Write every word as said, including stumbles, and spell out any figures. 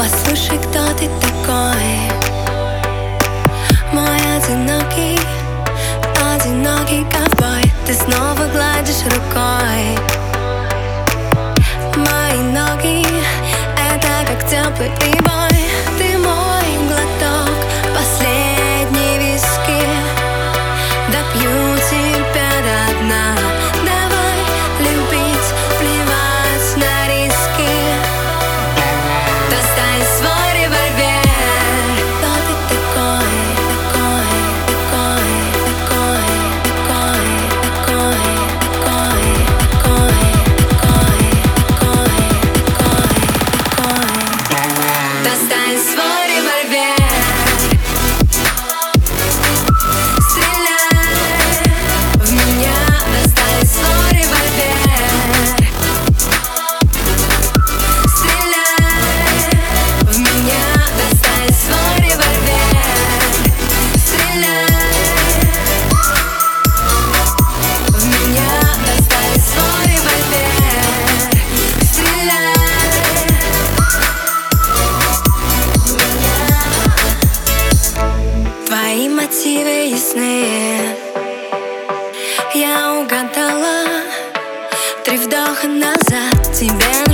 Послушай, кто ты такой, мой одинокий, одинокий ковбой. Ты снова гладишь рукой мои ноги, это как теплый прибой. Ты мой глоток, последний виски, допью тебя до дна. Давай любить, плевать на риски. Достань свой револьвер. Кто ты такой, такой, такой, такой, такой, такой, такой, такой, такой, такой, такой. Достань свой револьвер. Твои мотивы ясны, я угадала. Три вдоха назад тебе